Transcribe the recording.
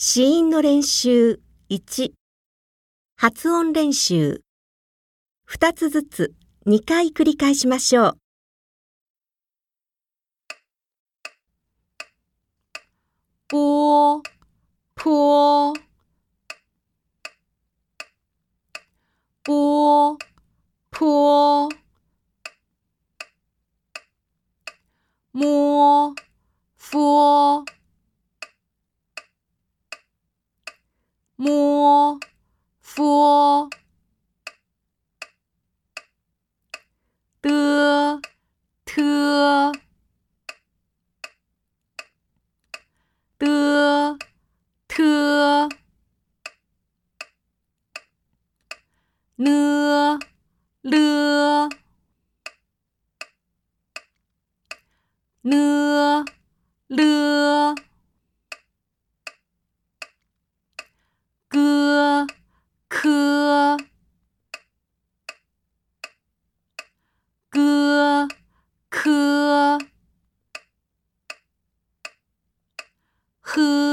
子音の練習1、発音練習。2つずつ2回繰り返しましょう。 波、坡、波、坡，摸，佛，摸，佛，的，特，的，特，呢，了，呢，了，歌，科，歌，科，呵。